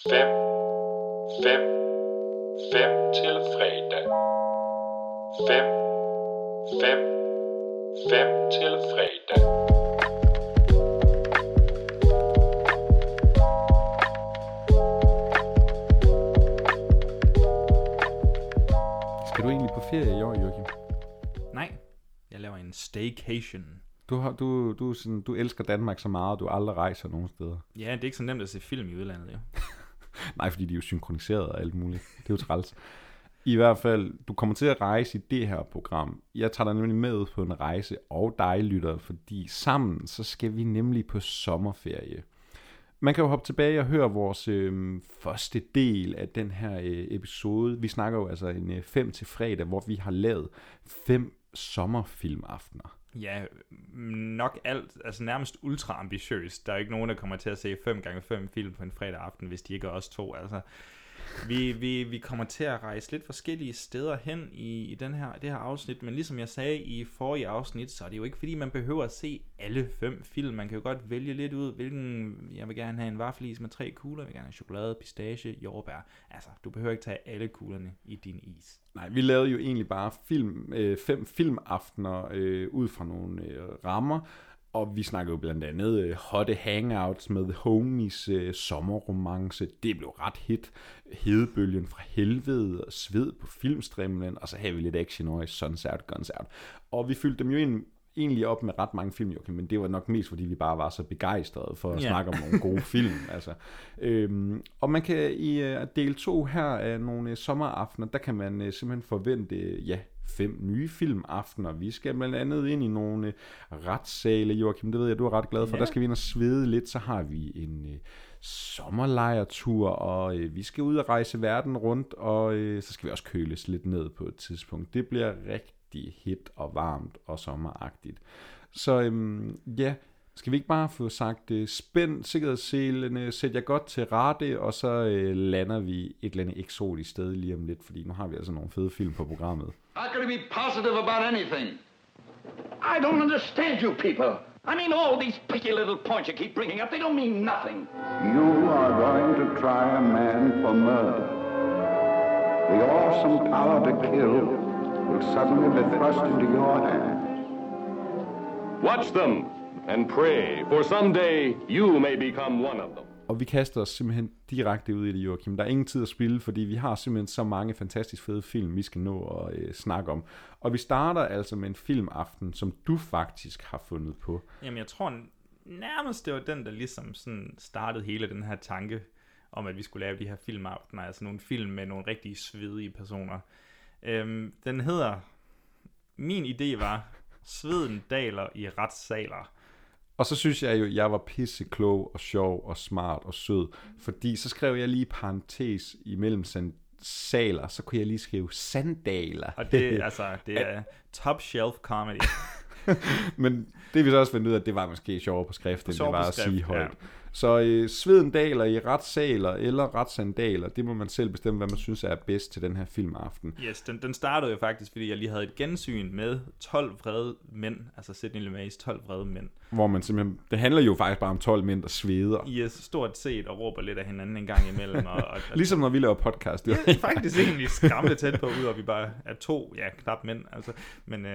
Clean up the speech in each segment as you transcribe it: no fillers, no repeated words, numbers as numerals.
5 til fredag. 5 til fredag. Skal du egentlig på ferie i år, Joachim? Nej, jeg laver en staycation. Du elsker Danmark så meget, du aldrig rejser nogen steder. Ja, det er ikke så nemt at se film i udlandet, jo. Nej, fordi de er jo synkroniseret og alt muligt. Det er jo træls. I hvert fald, du kommer til at rejse i det her program. Jeg tager dig nemlig med på en rejse, og dig lytter, fordi sammen så skal vi nemlig på sommerferie. Man kan jo hoppe tilbage og høre vores første del af den her episode. Vi snakker jo altså en 5 til fredag, hvor vi har lavet 5 sommerfilmaftener. Ja, nok alt, altså nærmest ultra ambitiøst. Der er jo ikke nogen, der kommer til at se 5x5 film på en fredag aften, hvis de ikke er os to. Altså, vi kommer til at rejse lidt forskellige steder hen i det her afsnit, men ligesom jeg sagde i forrige afsnit, så er det jo ikke fordi, man behøver at se alle 5 film. Man kan jo godt vælge lidt ud, jeg vil gerne have en vaffelis med 3 kugler, jeg vil gerne have chokolade, pistache, jordbær. Altså, du behøver ikke tage alle kuglerne i din is. Nej, vi lavede jo egentlig bare 5 filmaftener ud fra nogle rammer, og vi snakker jo blandt andet hotte hangouts med homies, sommerromance. Det blev ret hit. Hedebølgen fra helvede, sved på filmstrimlen, og så havde vi lidt action over i Sunset Guns Out. Og vi fyldte dem jo egentlig op med ret mange film, Joachim, men det var nok mest, fordi vi bare var så begejstrede for at snakke om nogle gode film. Altså. Og man kan i del 2 her af nogle sommeraftener, der kan man simpelthen forvente, 5 nye filmaftener. Vi skal blandt andet ind i nogle retssale, Joachim, det ved jeg, du er ret glad for. Der skal vi ind og svede lidt, så har vi en sommerlejretur, og vi skal ud og rejse verden rundt, og så skal vi også køles lidt ned på et tidspunkt. Det bliver rigtig hit og varmt og sommeragtigt. Så skal vi ikke bare få sagt, spænd sikkerhedsselene, sæt jer godt til rette, og så lander vi et eller andet eksotisk sted lige om lidt, fordi nu har vi altså nogle fede film på programmet. How can you be positive about anything? I don't understand you people. I mean, all these picky little points you keep bringing up, they don't mean nothing. You are going to try a man for murder. The awesome power to kill will suddenly be thrust into your hand. Watch them and pray, for someday you may become one of them. Og vi kaster os simpelthen direkte ud i det, Joachim. Der er ingen tid at spilde, fordi vi har simpelthen så mange fantastisk fede film, vi skal nå at snakke om. Og vi starter altså med en filmaften, som du faktisk har fundet på. Jamen, jeg tror nærmest, det var den, der ligesom sådan startede hele den her tanke om, at vi skulle lave de her filmaftener. Altså nogle film med nogle rigtig svedige personer. Den hedder... Min idé var, sveden daler i retssaler. Og så synes jeg jo, at jeg var pisseklog og sjov og smart og sød. Fordi så skrev jeg lige parentes imellem saler, så kunne jeg lige skrive sandaler. Og det, det er top shelf comedy. Men det vi så også fandt ud af, at det var måske sjovere på skrift, end det var at sige højt. Ja. Så sveden daler i retssaler eller retssandaler, det må man selv bestemme, hvad man synes er bedst til den her filmaften. Yes, den startede jo faktisk, fordi jeg lige havde et gensyn med 12 vrede mænd, altså Sidney Lumet's 12 vrede mænd. Hvor man simpelthen, det handler jo faktisk bare om 12 mænd, der sveder. Yes, stort set, og råber lidt af hinanden en gang imellem. Og ligesom når vi laver podcast. Det er faktisk egentlig skræmmende tæt på, ud og vi bare er 2, knap mænd, altså. Men...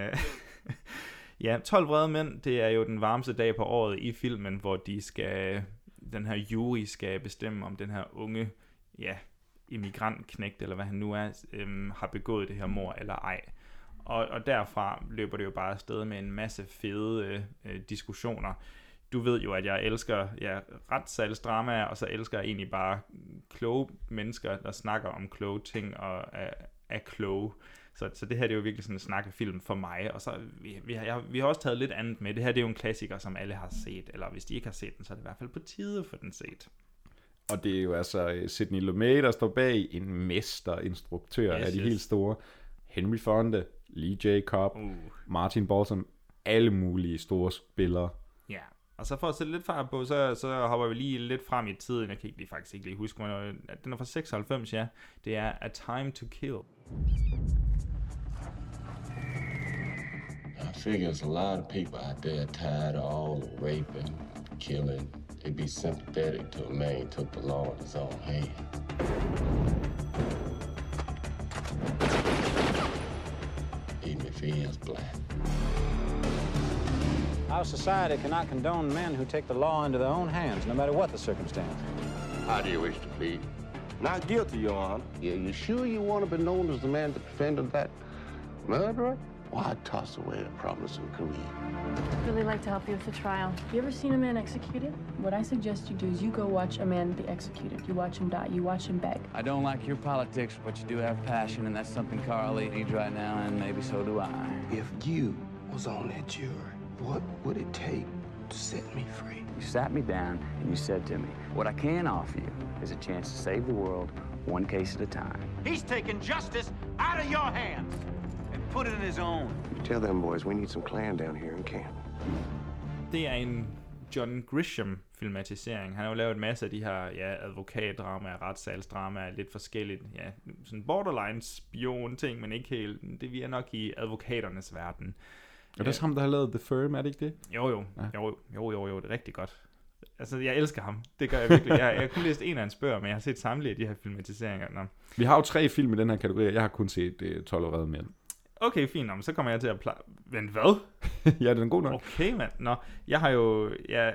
Ja, 12 vrede mænd, det er jo den varmeste dag på året i filmen, hvor den her jury skal bestemme, om den her unge, immigrantknægt, eller hvad han nu er, har begået det her mord eller ej. Og derfra løber det jo bare afsted med en masse fede diskussioner. Du ved jo, at jeg elsker retssalsdramaer, og så elsker jeg egentlig bare kloge mennesker, der snakker om kloge ting og er kloge. Så det her det er jo virkelig sådan en snakkefilm for mig, og så vi har også taget lidt andet med. Det her det er jo en klassiker, som alle har set, eller hvis de ikke har set den, så er det i hvert fald på tide for den set. Og det er jo altså Sidney Lumet, der står bag, en mesterinstruktør af de helt store. Henry Fonda, Lee J. Cobb, Martin Balsam, alle mulige store spillere. Ja, og så for at sætte lidt fart på, så hopper vi lige lidt frem i tiden. Jeg kan faktisk ikke lige huske, men den er fra 96, ja. Det er A Time to Kill. I figure there's a lot of people out there tired of all the raping, killing, They'd be sympathetic to a man who took the law in his own hand. Even if he is black. Our society cannot condone men who take the law into their own hands, no matter what the circumstance. How do you wish to plead? Not guilty, Your Honor. Yeah, you sure you want to be known as the man that defended that murderer? Why toss away a promising career? I'd really like to help you with the trial. You ever seen a man executed? What I suggest you do is you go watch a man be executed. You watch him die. You watch him beg. I don't like your politics, but you do have passion, and that's something Carly needs right now, and maybe so do I. If you was on that jury, what would it take to set me free? You sat me down, and you said to me, what I can offer you is a chance to save the world one case at a time. He's taking justice out of your hands and put it in his own. You tell them boys we need some clan down here in camp. Det er en John Grisham-filmatisering. Han har jo lavet en masse af de her advokatdramaer, retssalsdramaer, lidt forskelligt. Ja, sådan borderline spion-ting, men ikke helt. Det vi er nok i advokaternes verden. Og det er ham, der har lavet The Firm, er det ikke det? Jo, det er rigtig godt. Altså, jeg elsker ham. Det gør jeg virkelig. Jeg har kun læst en af hans bøger, men jeg har set samtlige af de her filmatiseringer. Nå. Vi har jo 3 film i den her kategori, jeg har kun set 12 og reddet mere. Okay, fint. Så kommer jeg til at Men hvad? Ja, den er god nok. Okay, mand. Nå, jeg har jo...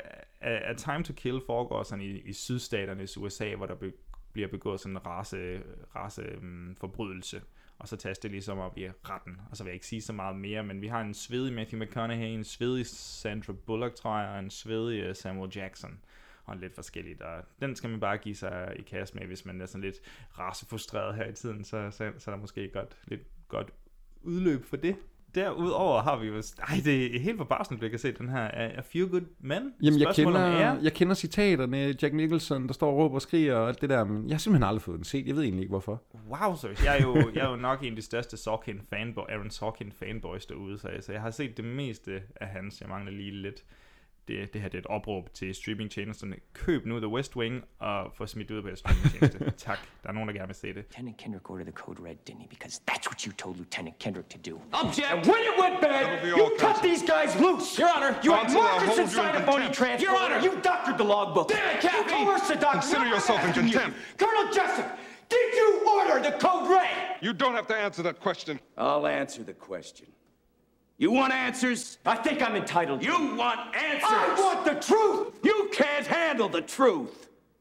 A Time to Kill foregår sådan i sydstaternes USA, hvor der bliver begået sådan en raceforbrydelse. Og så tages det ligesom op i retten. Og så vil jeg ikke sige så meget mere, men vi har en svedig Matthew McConaughey, en svedig Sandra Bullock, tror jeg, og en svedig Samuel Jackson. Og lidt forskelligt. Og den skal man bare give sig i kast med, hvis man er sådan lidt racefrustreret her i tiden, så er der måske godt udløb for det. Derudover har vi jo... det er helt forbavsende, at du kan se den her A Few Good Men. Jamen, jeg kender citaterne, Jack Nicholson, der står og råber og skriger og alt det der, men jeg har simpelthen aldrig fået den set. Jeg ved egentlig ikke, hvorfor. Wow, så jeg er jo nok en af de største Aaron Sorkin fanboys derude, så jeg har set det meste af hans. Jeg mangler lige lidt. Det her det er et opråb til streamingtjenesterne. Køb nu The West Wing og få smidt ud på jeres streamingtjeneste. Tak. Der er nogen, der gerne vil se det. Lieutenant Kendrick ordered the code red, didn't he? Because that's what you told Lieutenant Kendrick to do. Object! And when it went bad, you cut these guys loose! Your Honor, you had Marcus inside a phony transport! Your Honor, you doctored the logbook! Damn it, Captain! You coerced the doctor! Consider yourself in contempt! Colonel Jessup, did you order the code red? You don't have to answer that question. I'll answer the question. You want answers? I think I'm entitled. You want answers? I want the truth! You can't handle the truth!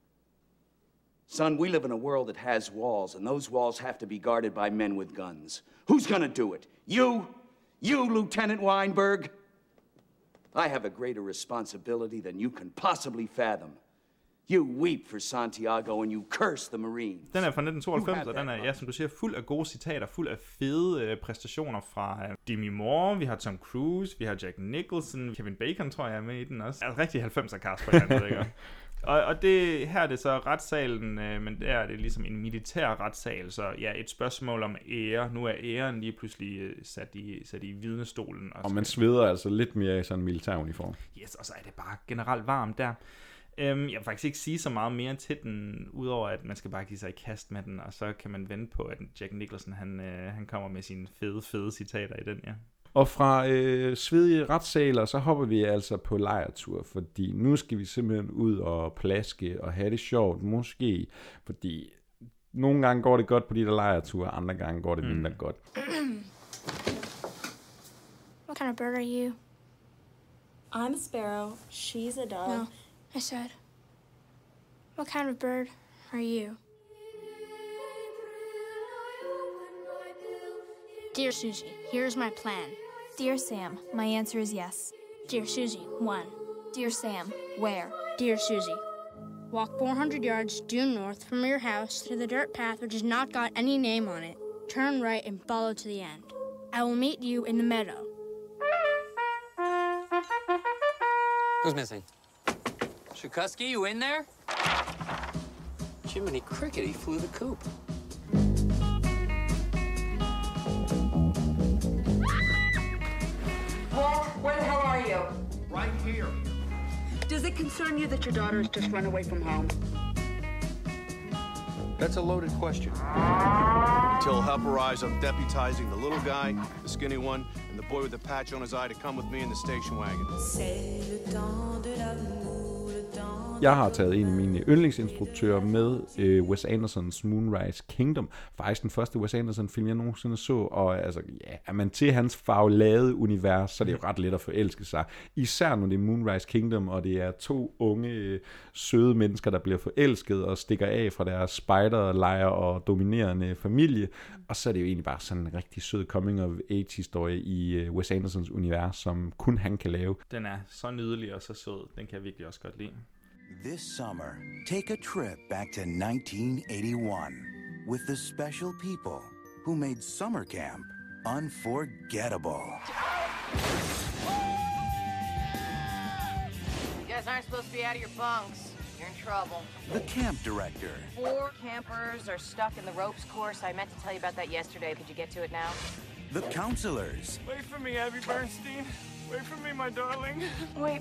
Son, we live in a world that has walls, and those walls have to be guarded by men with guns. Who's gonna do it? You? You, Lieutenant Weinberg? I have a greater responsibility than you can possibly fathom. You weep for Santiago, and you curse the Marines. Den er fra 1992, og den er, som du siger, fuld af gode citater, fuld af fede præstationer fra Demi Moore, vi har Tom Cruise, vi har Jack Nicholson, Kevin Bacon, tror jeg, er med i den også. Altså rigtig 90'er cast på den, ikke? Og det, her er det så retssalen, men der er det ligesom en militær retssal, så ja, et spørgsmål om ære. Nu er æren lige pludselig sat i vidnestolen. Og man sveder altså lidt mere i sådan en militæruniform. Yes, og så er det bare generelt varmt der. Jeg vil faktisk ikke sige så meget mere til den, udover at man skal bare give sig i kast med den, og så kan man vente på, at Jack Nicholson han kommer med sine fede citater i den, ja. Og fra svedige retssaler, så hopper vi altså på lejrtur, fordi nu skal vi simpelthen ud og plaske og have det sjovt, måske, fordi nogle gange går det godt på de der lejrture, andre gange går det mindre godt. What kind of bird are you? I'm a sparrow. She's a dove. No, I said, what kind of bird are you? Dear Susie, here's my plan. Dear Sam, my answer is yes. Dear Susie, 1. Dear Sam, where? Dear Susie, walk 400 yards due north from your house to the dirt path which has not got any name on it. Turn right and follow to the end. I will meet you in the meadow. Who's missing? Shukusky, you in there? Jiminy Cricket, he flew the coop. Walt, where the hell are you? Right here. Does it concern you that your daughter has just run away from home? That's a loaded question. Until help arrives, I'm deputizing the little guy, the skinny one, and the boy with the patch on his eye to come with me in the station wagon. C'est le temps de l'amour, le temps Jeg har taget en af mine yndlingsinstruktører med, Wes Andersons Moonrise Kingdom. Faktisk den første Wes Anderson-film, jeg nogensinde så. Og altså, ja, er man til hans farvelade univers, så er det jo ret let at forelske sig. Især når det er Moonrise Kingdom, og det er 2 unge, søde mennesker, der bliver forelsket og stikker af fra deres spejderlejr og dominerende familie. Og så er det jo egentlig bare sådan en rigtig sød coming-of-age-historie i Wes Andersons univers, som kun han kan lave. Den er så nydelig og så sød. Den kan jeg virkelig også godt lide. This summer, take a trip back to 1981 with the special people who made summer camp unforgettable. You guys aren't supposed to be out of your bunks. You're in trouble. The camp director. 4 campers are stuck in the ropes course. I meant to tell you about that yesterday. Could you get to it now? The counselors. Wait for me, Abby Bernstein. Wait for me, my darling. Wait.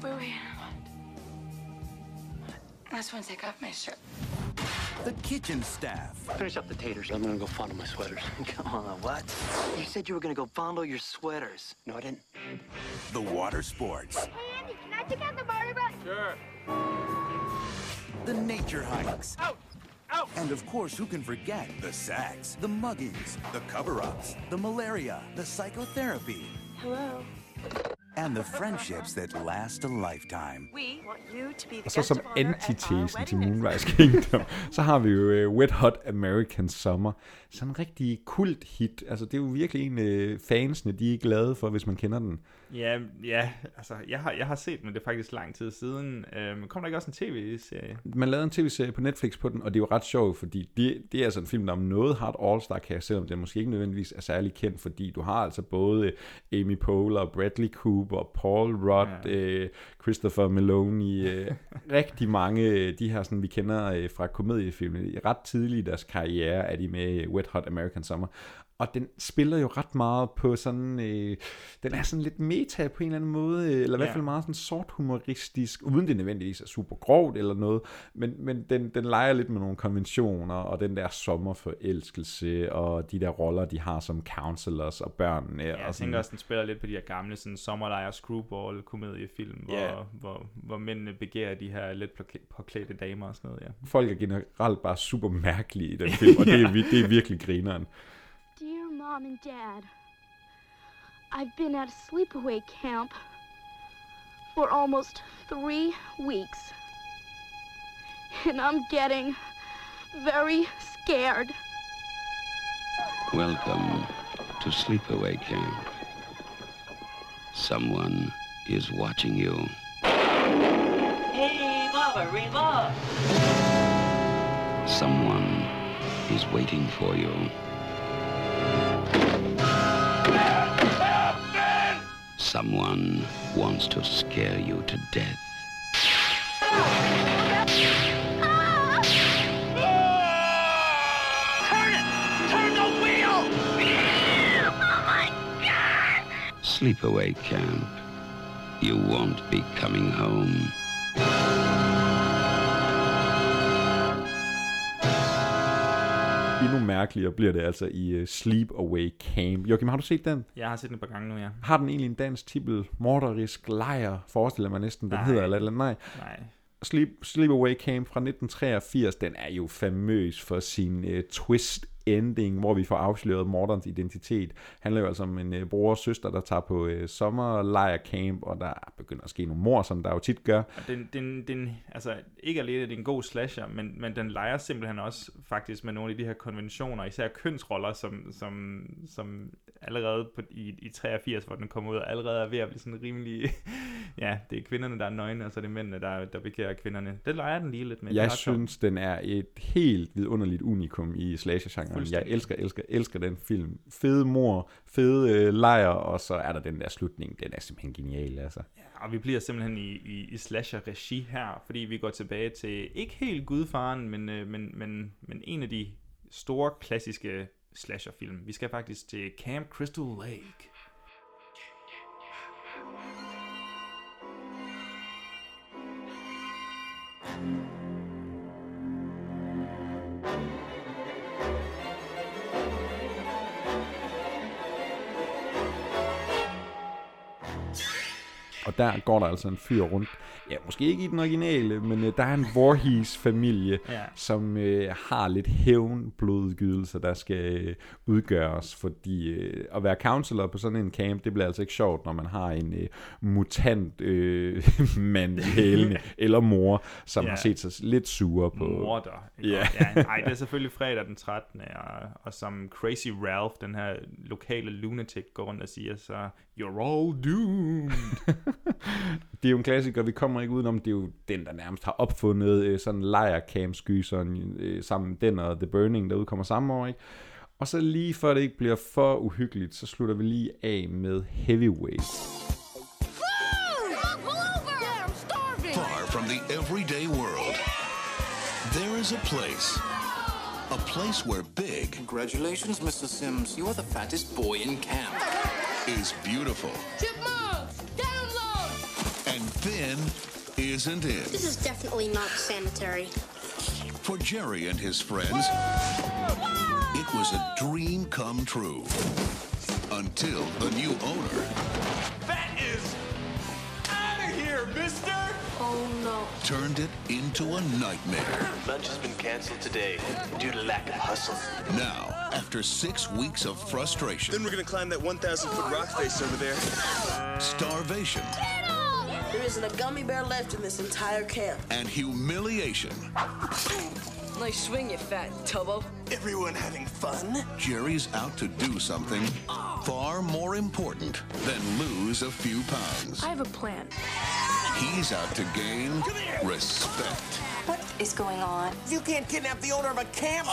I just want to take off my shirt. The kitchen staff. Finish up the taters. I'm gonna go fondle my sweaters. Come on, what? You said you were gonna go fondle your sweaters. No, I didn't. The water sports. Hey, Andy, can I check out the Barbie boat? Sure. The nature hikes. Out! Out! And of course, who can forget the sex, the muggings, the cover-ups, the malaria, the psychotherapy. Hello. And the friendships that last a lifetime. We want you to be the Og så guest som of honor at our antitesen til wedding. Moonrise Kingdom, så har vi jo Wet Hot American Summer. Sådan en rigtig kult hit. Altså det er jo virkelig en fansene, de er glade for, hvis man kender den. Ja, altså jeg har set den, men det er faktisk lang tid siden. Kom der ikke også en tv-serie? Man lavede en tv-serie på Netflix på den, og det er jo ret sjovt, fordi det er altså en film, der om noget har et all-star-cast, selvom den måske ikke nødvendigvis er særlig kendt, fordi du har altså både Amy Poehler, Bradley Cooper, Paul Rudd, Christopher Meloni, rigtig mange de her, sådan, vi kender fra komediefilmene. Ret tidligt i deres karriere er de med i Wet Hot American Summer. Og den spiller jo ret meget på sådan, den er sådan lidt meta på en eller anden måde, eller i hvert fald meget sådan sort humoristisk, uden det nødvendigvis er super grovt eller noget, men den leger lidt med nogle konventioner, og den der sommerforelskelse, og de der roller, de har som counselors og børnene. Ja, jeg tænker også, den spiller lidt på de her gamle sådan sommerlejre screwball-komediefilm, hvor mændene begærer de her let påklædte damer og sådan noget, ja. Folk er generelt bare super mærkelige i den film, og det er virkelig grineren. Dear Mom and Dad, I've been at a sleepaway camp for almost 3 weeks. And I'm getting very scared. Welcome to Sleepaway Camp. Someone is watching you. Hey, Mama, Reba! Someone is waiting for you. Someone wants to scare you to death. Turn the wheel! Oh my God! Sleepaway Camp. You won't be coming home. Endnu mærkeligere bliver det altså i Sleepaway Camp. Joachim, har du set den? Jeg har set den et par gange nu, ja. Har den egentlig en dansk titel? Morderisk lejr, forestiller mig næsten, den hedder, eller nej? Nej. Sleepaway Camp fra 1983, den er jo famøs for sin twist ending, hvor vi får afsløret morderens identitet. Handler jo altså om en bror og søster, der tager på sommerlejrcamp, og der begynder at ske nogle mord, som der jo tit gør. Den altså ikke alene er det en god slasher, men den leger simpelthen også faktisk med nogle af de her konventioner, især kønsroller, som allerede i 83, hvor den kommer ud, allerede er ved at blive sådan rimelig, ja, det er kvinderne, der er nøgne, og så er det mændene, der begærer kvinderne. Det leger den lige lidt med. Jeg synes, den er et helt vidunderligt unikum i slasher-genren. Jeg elsker den film. Fede mor, fede lejr, og så er der den der slutning. Den er simpelthen genial, altså. Ja, og vi bliver simpelthen i slasher-regi her, fordi vi går tilbage til, ikke helt Gudfaren, men en af de store, klassiske slasher-film. Vi skal faktisk til Camp Crystal Lake. Og der går der altså en fyr rundt. Ja, måske ikke i den originale, men der er en Voorhees-familie, som har lidt hævnblodudgydelser, der skal udgøres. Fordi at være counselor på sådan en camp, det bliver altså ikke sjovt, når man har en mutant mand hælende, eller mor, som har set sig lidt sure på... Morder. Nej, det er selvfølgelig fredag den 13. Og som Crazy Ralph, den her lokale lunatic, går rundt og siger, så you're all doomed. Det er jo en klassiker, vi kommer ikke udenom. Det er jo den, der nærmest har opfundet sådan lejrcamp-skyseren sammen den og The Burning, der udkommer samme år, ikke? Og så lige før det ikke bliver for uhyggeligt, så slutter vi lige af med Heavyweight. Far from the everyday world, there is a place where big... Congratulations, Mr. Sims. You're the fattest boy in camp. ...is beautiful. Chipmunks! Download! And thin isn't it? This is definitely not sanitary. For Jerry and his friends, it was a dream come true. Until the new owner... That is out of here, mister! Oh no. Turned it into a nightmare. Lunch has been canceled today due to lack of hustle. Now, after 6 weeks of frustration... Then we're gonna climb that 1,000-foot rock face over there. Starvation. There isn't a gummy bear left in this entire camp. And humiliation. Nice swing, you fat tubbo. Everyone having fun? Jerry's out to do something far more important than lose a few pounds. I have a plan. He's out to gain respect. What is going on? You can't kidnap the owner of a camp!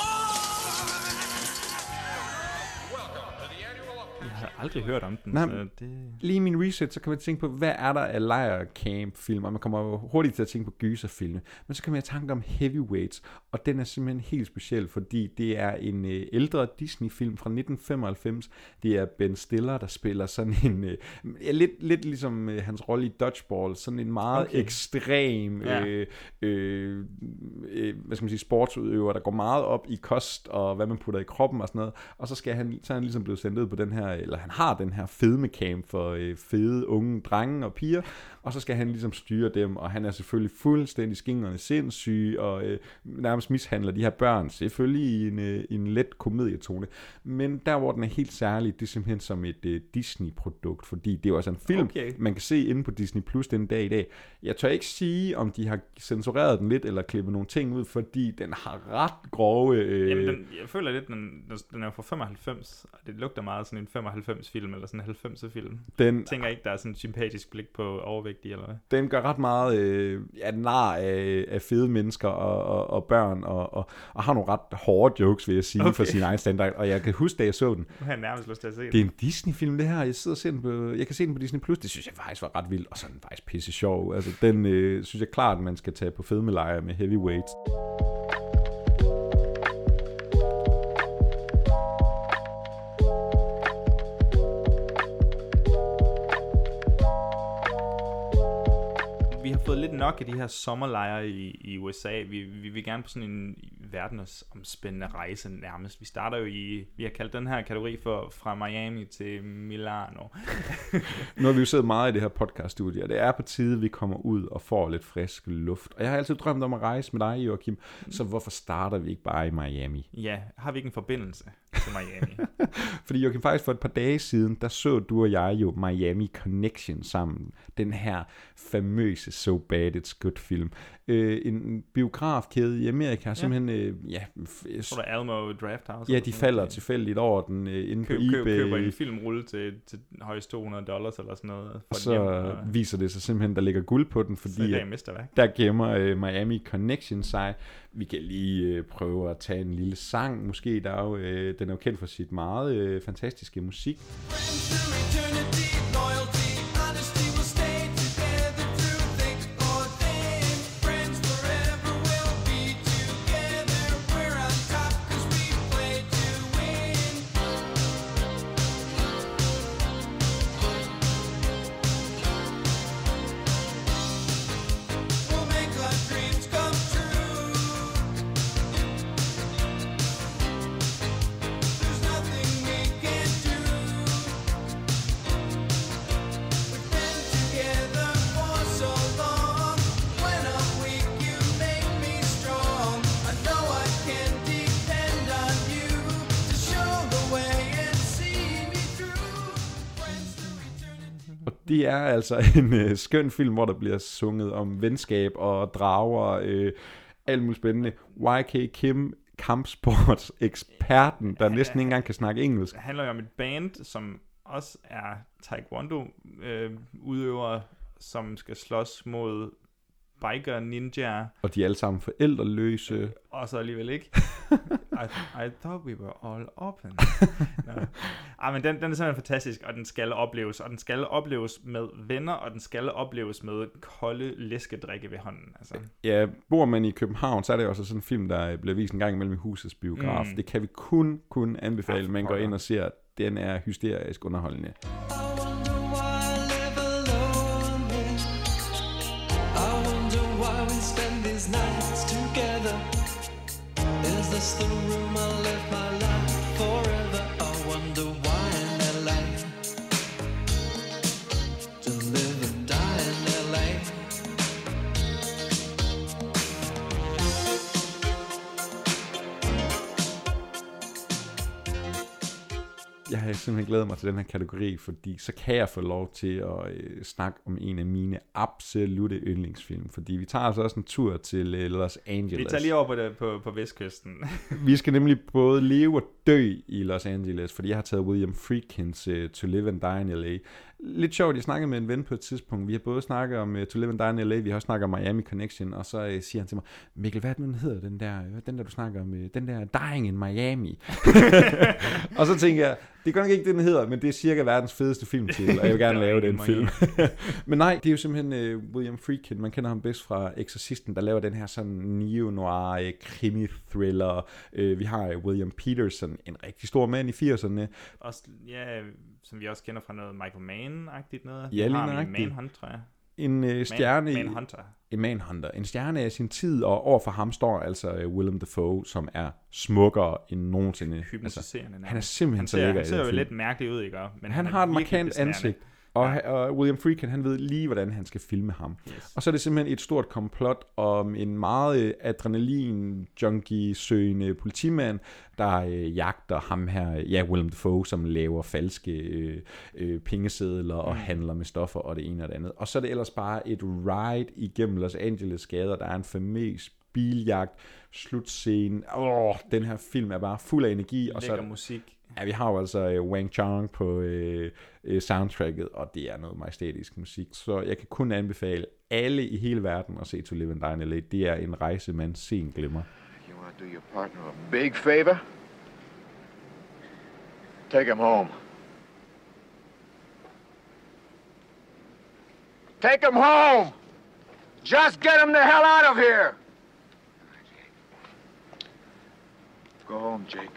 Jeg har aldrig hørt om den. Nej, så det... Lige min research, så kan man tænke på, hvad er der af lejrcamp-film, og man kommer jo hurtigt til at tænke på gyserfilme, men så kan man tænke om Heavyweights, og den er simpelthen helt speciel, fordi det er en ældre Disney-film fra 1995. Det er Ben Stiller, der spiller sådan en, lidt ligesom hans rolle i Dodgeball, sådan en meget ekstrem, hvad skal man sige, sportsudøver, der går meget op i kost, og hvad man putter i kroppen og sådan noget, og så er han ligesom blevet sendt ud på den her, eller han har den her fedmecamp for fede unge drenge og piger, og så skal han ligesom styre dem, og han er selvfølgelig fuldstændig skingrende sindssyg, og nærmest mishandler de her børn, selvfølgelig i en let komedietone. Men der, hvor den er helt særlig, det er simpelthen som et Disney-produkt, fordi det er jo altså en film, man kan se inde på Disney Plus den dag i dag. Jeg tør ikke sige, om de har censureret den lidt, eller klippet nogle ting ud, fordi den har ret grove... Jamen, jeg føler lidt, den er fra 95, og det lugter meget sådan en 95-film, eller sådan en 90'er-film. Jeg tænker ikke, der er sådan en sympatisk blik på overvægtige, eller hvad? Den gør ret meget nar af fede mennesker og børn, og har nogle ret hårde jokes, vil jeg sige, for sin egen standard. Og jeg kan huske, da jeg så den. Nu har jeg nærmest lyst til at se den. Det er en Disney-film, det her. Jeg sidder og ser den på, jeg kan se den på Disney Plus. Det synes jeg faktisk var ret vildt, og så er den faktisk pisse sjov. Altså, den synes jeg klart, man skal tage på fedmelejre med Heavyweights. Vi har fået lidt nok af de her sommerlejre i USA. Vi vil gerne på sådan en verdensomspændende rejse nærmest. Vi starter jo vi har kaldt den her kategori for fra Miami til Milano. Nu har vi jo siddet meget i det her podcaststudie, og det er på tide, vi kommer ud og får lidt frisk luft. Og jeg har altid drømt om at rejse med dig, Joachim, så hvorfor starter vi ikke bare i Miami? Ja, har vi ikke en forbindelse til Miami? Fordi Joachim, faktisk for et par dage siden, der så du og jeg jo Miami Connection sammen. Den her famøse So Bad It's Good film. En biografkæde i Amerika, simpelthen, Så der Alamo Drafthouse. Ja, de falder tilfældigt over den inde på eBay. Køber en filmrulle til højst $200 eller sådan noget. Og så viser det sig simpelthen, der ligger guld på den, fordi der gemmer Miami Connection sig. Vi kan lige prøve at tage en lille sang. Måske der er jo, den er jo kendt for sit meget fantastiske musik. Det er altså en skøn film, hvor der bliver sunget om venskab og drager, alt muligt spændende. YK Kim, kampsportseksperten, der næsten ikke engang kan snakke engelsk. Det handler jo om et band, som også er taekwondo-udøvere, som skal slås mod biker ninja. Og de er alle sammen forældreløse. Og så alligevel ikke. I thought we were all open. Men den er simpelthen fantastisk, og den skal opleves. Og den skal opleves med venner, og den skal opleves med kolde læskedrikke ved hånden. Altså. Ja, bor man i København, så er det jo også sådan en film, der bliver vist en gang imellem i husets biograf. Det kan vi kun anbefale, man går ind og ser. Den er hysterisk underholdende. Nights together. Is this the room I live my life forever? I wonder why in LA to live and die in LA. Jeg har simpelthen glædet mig til den her kategori, fordi så kan jeg få lov til at snakke om en af mine absolutte yndlingsfilm, fordi vi tager altså også en tur til Los Angeles. Vi tager lige over på vestkysten. Vi skal nemlig både leve og dø i Los Angeles, fordi jeg har taget William Friedkins To Live and Die in L.A. Lidt sjovt, jeg snakkede med en ven på et tidspunkt. Vi har både snakket om To Live and Die in L.A., vi har også snakket om Miami Connection, og så siger han til mig, Mikkel, hvad den hedder, den der du snakker om, den der Dying in Miami. Og så tænker jeg, det er godt nok ikke det, den hedder, men det er cirka verdens fedeste filmtitel, og jeg vil gerne lave den film. Men nej, det er jo simpelthen William Friedkin, man kender ham bedst fra Exorcisten, der laver den her sådan neo-noir krimi-thriller. Vi har William Peterson, en rigtig stor mand i 80'erne. Også, ja, som vi også kender fra noget Michael Mann-agtigt noget. Ja, lige nøjagtigt. Manhunt, tror jeg. En stjerne Manhunter. En stjerne af sin tid, og overfor ham står altså Willem Dafoe, som er smukkere end nogensinde. Hypnotiserende. Altså, han er simpelthen så lækker. Han ser jo lidt mærkelig ud, ikke? Men han har et markant ansigt. Og William Friedkin, han ved lige, hvordan han skal filme ham. Yes. Og så er det simpelthen et stort komplot om en meget adrenalin-junkie-søgende politimand, der jagter ham her, Willem Dafoe, som laver falske pengesedler og handler med stoffer og det ene og det andet. Og så er det ellers bare et ride igennem Los Angeles gader. Der er en famøs biljagt, slutscene. Den her film er bare fuld af energi. Og så musik. Ja, vi har jo altså Wang Chung på soundtracket, og det er noget majestætisk musik. Så jeg kan kun anbefale alle i hele verden at se To Live and Die in L.A. Det er en rejse, man sent glemmer. You want to do your partner a big favor? Take him home. Take him home! Just get him the hell out of here! Go home, Jake.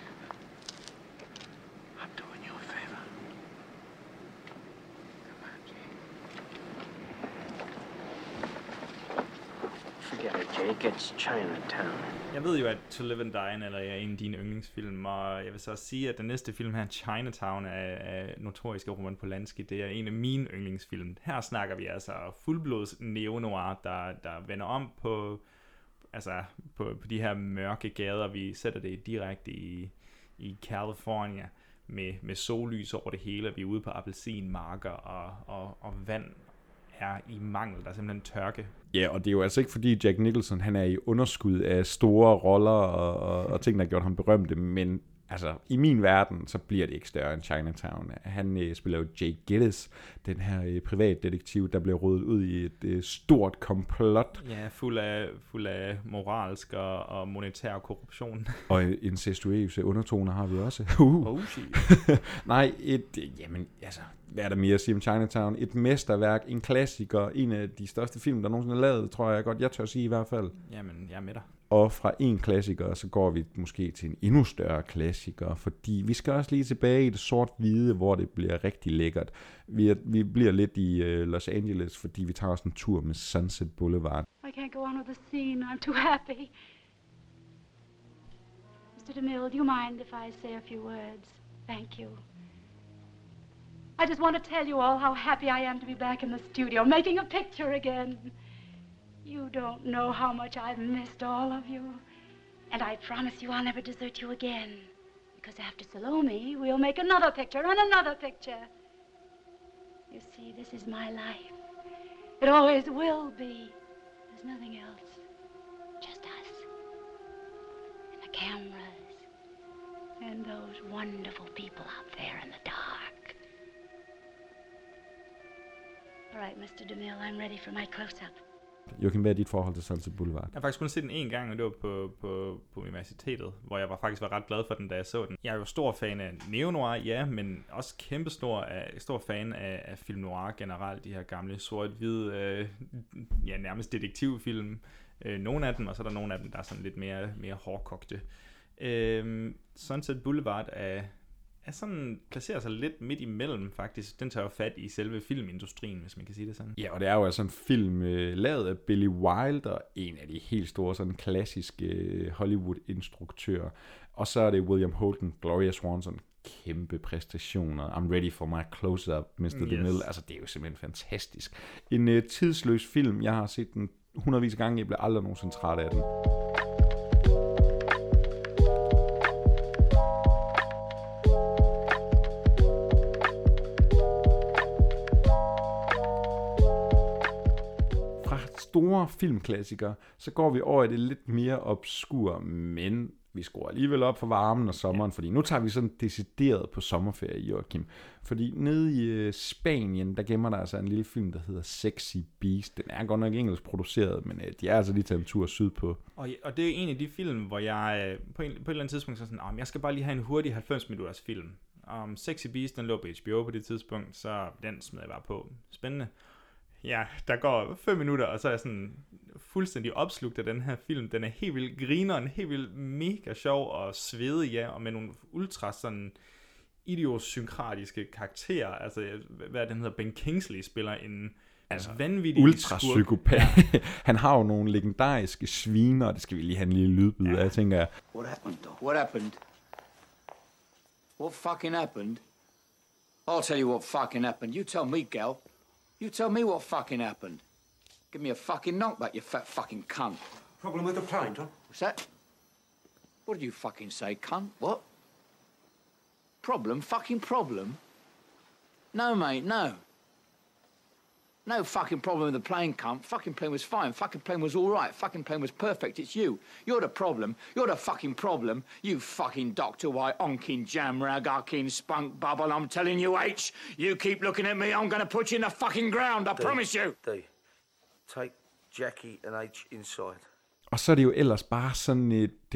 Jake, it's Chinatown. Jeg ved jo, at To Live and Die in LA er en af dine yndlingsfilm, og jeg vil så også sige, at den næste film her, Chinatown, af notoriske Roman Polanski, det er en af mine yndlingsfilm. Her snakker vi altså fuldblods neo-noir, der vender om på de her mørke gader. Vi sætter det direkte i California med sollys over det hele. Vi er ude på appelsinmarker og vand er i mangel. Der er simpelthen tørke. Ja, og det er jo altså ikke fordi Jack Nicholson, han er i underskud af store roller og ting, der har gjort ham berømte, men altså i min verden, så bliver det ikke større end Chinatown. Han spiller jo Jake Gittes, den her privatdetektiv, der bliver rodet ud i et stort komplot. Ja, fuld af moralsk og monetær korruption. Og incestuøse undertoner har vi også. Nej, hvad er der mere at sige om Chinatown? Et mesterværk, en klassiker, en af de største film, der nogensinde er lavet, tror jeg godt, jeg tør sige i hvert fald. Jamen, jeg er med dig. Og fra en klassiker, så går vi måske til en endnu større klassiker, fordi vi skal også lige tilbage i det sort-hvide, hvor det bliver rigtig lækkert. Vi bliver lidt i Los Angeles, fordi vi tager også en tur med Sunset Boulevard. I can't go on with the scene. I'm too happy. Mr. DeMille, do you mind if I say a few words? Thank you. I just want to tell you all how happy I am to be back in the studio, making a picture again. You don't know how much I've missed all of you. And I promise you I'll never desert you again. Because after Salome, we'll make another picture and another picture. You see, this is my life. It always will be. There's nothing else. Just us. And the cameras. And those wonderful people out there in the dark. All right, Mr. DeMille, I'm ready for my close-up. Joachim, hvad er dit forhold til Sunset Boulevard? Jeg har faktisk kun set den en gang, og det var på universitetet, hvor jeg faktisk var ret glad for den, da jeg så den. Jeg er jo stor fan af neo-noir, ja, men også kæmpe stor fan af film noir generelt. De her gamle sort-hvide, nærmest detektivfilm. Nogle af dem, og så er der nogle af dem, der er sådan lidt mere hårdkogte. Sunset Boulevard sådan placerer sig lidt midt imellem faktisk. Den tager jo fat i selve filmindustrien, hvis man kan sige det sådan. Ja, og det er jo altså en film lavet af Billy Wilder, en af de helt store sådan klassiske Hollywood-instruktører. Og så er det William Holden, Gloria Swanson, kæmpe præstationer. I'm ready for my close-up, Mr. DeMille. Altså, det er jo simpelthen fantastisk. En tidsløs film. Jeg har set den hundredvis af gange. Jeg bliver aldrig nogensinde træt af den. Store filmklassikere, så går vi over i det lidt mere obskur, men vi skruer alligevel op for varmen og sommeren, fordi nu tager vi sådan decideret på sommerferie, Joachim. Fordi nede i Spanien, der gemmer der altså en lille film, der hedder Sexy Beast. Den er godt nok engelsk produceret, men de er altså lige taget en tur sydpå. Og det er en af de film, hvor jeg på et eller andet tidspunkt så sådan, jeg skal bare lige have en hurtig 90-minutters film. Sexy Beast, den lå på HBO på det tidspunkt, så den smed jeg bare på. Spændende. Ja, der går 5 minutter, og så er jeg sådan fuldstændig opslugt af den her film. Den er helt vildt grineren, helt vildt mega sjov og svedig, ja, og med nogle ultra sådan idiosynkratiske karakterer. Altså, hvad den hedder, Ben Kingsley spiller en vanvittig ultrapsykopat. Han har jo nogle legendariske sviner, og det skal vi lige have en lille lydbid af, tænker jeg. What happened, Doc? What happened? What fucking happened? I'll tell you what fucking happened. You tell me, gal. You tell me what fucking happened. Give me a fucking knockback, you fat fucking cunt. Problem with the plane, Tom? What's that? What did you fucking say, cunt? What? Problem? Fucking problem? No, mate, no. No fucking problem with the plane, cunt. Fucking plane was fine. Fucking plane was all right. Fucking plane was perfect. It's you. You're the problem. You're the fucking problem. You fucking Dr. White, onkin jamrag, arkin spunk bubble. I'm telling you, H, you keep looking at me, I'm gonna put you in the fucking ground. I promise you. D, take Jackie and H inside. Og så er det jo ellers bare sådan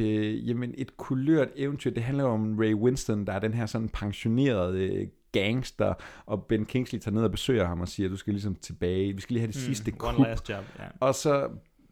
et kulørt eventyr. Det handler jo om Ray Winston, der er den her sådan pensionerede gangster, og Ben Kingsley tager ned og besøger ham og siger, du skal ligesom tilbage, vi skal lige have det sidste kup. One last job, ja. Og så,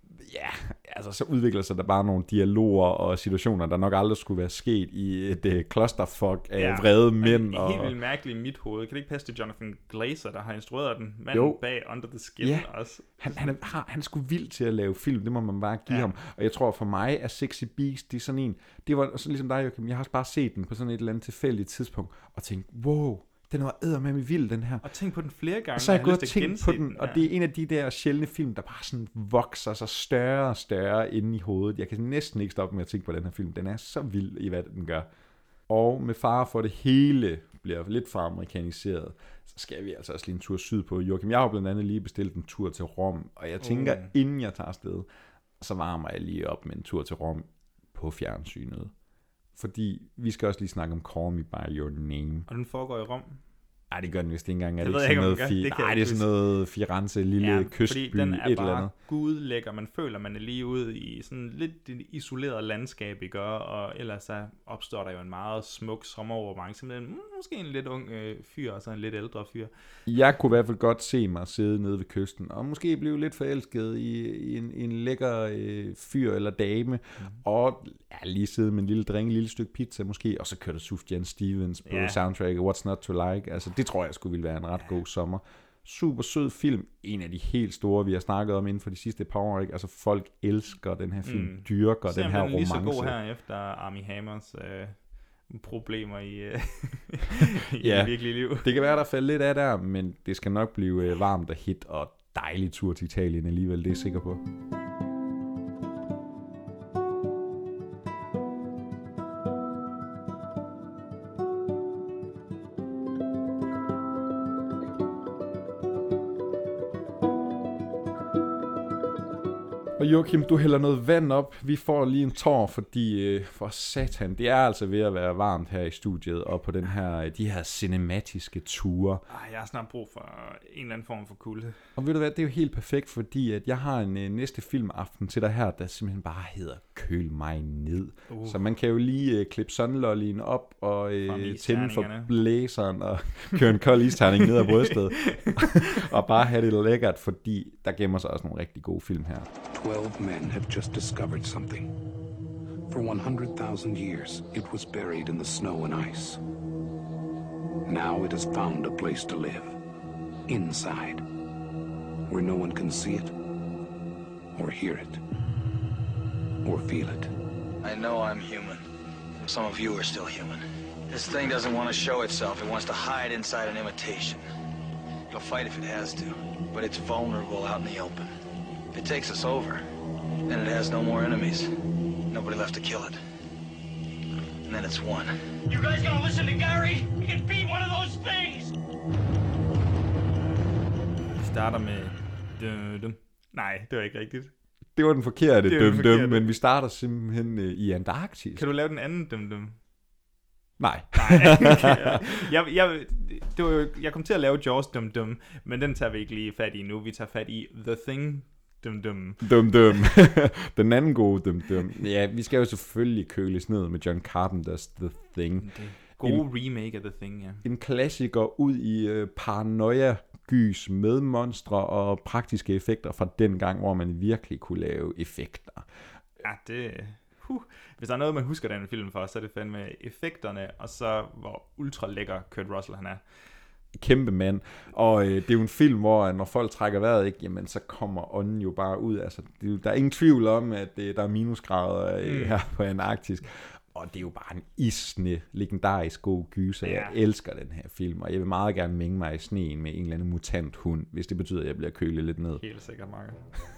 så udvikler sig der bare nogle dialoger og situationer, der nok aldrig skulle være sket i et clusterfuck af vrede mænd. Det er helt vildt mærkeligt i mit hoved. Kan det ikke passe til Jonathan Glazer, der har instrueret den? Manden bag Under the Skin også. Han er sgu vild til at lave film, det må man bare give ham. Og jeg tror for mig, at Sexy Beast, det er sådan en, det var sådan ligesom dig, Joachim, jeg har bare set den på sådan et eller andet tilfældigt tidspunkt, og tænkt, wow, den var eddermame vild, den her. Og tænk på den flere gange. Og så har jeg gået og tænkt på den, og det er en af de der sjældne film, der bare sådan vokser sig større og større inde i hovedet. Jeg kan næsten ikke stoppe med at tænke på den her film. Den er så vild i, hvad den gør. Og med fare for det hele bliver lidt for amerikaniseret, så skal vi altså også lige en tur sydpå. Joachim, jeg har blandt andet lige bestilt en tur til Rom, og jeg tænker, inden jeg tager afsted, så varmer jeg lige op med en tur til Rom på fjernsynet. Fordi vi skal også lige snakke om Call Me By Your Name. Og den foregår i Rom? Nej, det gør den vist ikke engang. Det er sådan noget Firenze, lille kystby, fordi den er et bare eller andet. gudlækker. Man føler, man er lige ude i sådan lidt isoleret landskab, ikke? Og ellers så opstår der jo en meget smuk sommerovergang. Simpelthen måske en lidt ung fyr, og så en lidt ældre fyr. Jeg kunne i hvert fald godt se mig sidde nede ved kysten, og måske blive lidt forelsket i en lækker fyr eller dame, og lige sidde med en lille drink, en lille stykke pizza måske, og så kører der Sufjan Stevens på soundtracket What's Not To Like. Altså, det tror jeg skulle ville være en ret god sommer. Super sød film. En af de helt store, vi har snakket om inden for de sidste par år. Ikke? Altså, folk elsker den her film, dyrker den her romance. Den er lige så god her efter Armie Hammers problemer i det virkelige liv. Det kan være, der falder lidt af der, men det skal nok blive varmt og hit og dejlig tur til Italien alligevel, det er jeg sikker på. Og Joachim, du hælder noget vand op. Vi får lige en tår, fordi for satan, det er altså ved at være varmt her i studiet, og på de her cinematiske ture. Jeg har snart brug for en eller anden form for kulde. Og ved du hvad, det er jo helt perfekt, fordi at jeg har en næste filmaften til dig her, der simpelthen bare hedder Køl mig ned. Så man kan jo lige klippe sunlollyen op og tænde for blæseren og køre en kold isterning ned ad brystet. Og bare have det lækkert, fordi der gemmer sig også nogle rigtig gode film her. 12 men have just discovered something. For 100,000 years, it was buried in the snow and ice. Now it has found a place to live. Inside. Where no one can see it, or hear it, or feel it. I know I'm human. Some of you are still human. This thing doesn't want to show itself. It wants to hide inside an imitation. It'll fight if it has to, but it's vulnerable out in the open. If it takes us over, then it has no more enemies. Nobody left to kill it. And then it's won. You guys gonna listen to Gary? He can beat one of those things! Vi starter med... Nej, det var ikke rigtigt. Det var den forkerte men vi starter simpelthen i Antarktis. Kan du lave den anden Nej. Jeg kom til at lave Jaws men den tager vi ikke lige fat i nu. Vi tager fat i The Thing Den anden gode Ja, vi skal jo selvfølgelig køles ned med John Carpenters The Thing. Gode remake af The Thing, ja. En klassiker ud i paranoia-gys med monstre og praktiske effekter fra den gang, hvor man virkelig kunne lave effekter. Ja, det... Hvis der er noget, man husker den film for, så er det fandme effekterne, og så hvor ultra lækker Kurt Russell han er. Kæmpe mand. Og det er jo en film, hvor når folk trækker vejret, ikke, jamen så kommer ånden jo bare ud. Altså, der er ingen tvivl om, at der er minusgrader her på Antarktis. Og det er jo bare en isne, legendarisk god gyser. Jeg elsker den her film, og jeg vil meget gerne mænge mig i sneen med en eller anden mutant hund, hvis det betyder, at jeg bliver kølet lidt ned. Helt sikkert, Marker.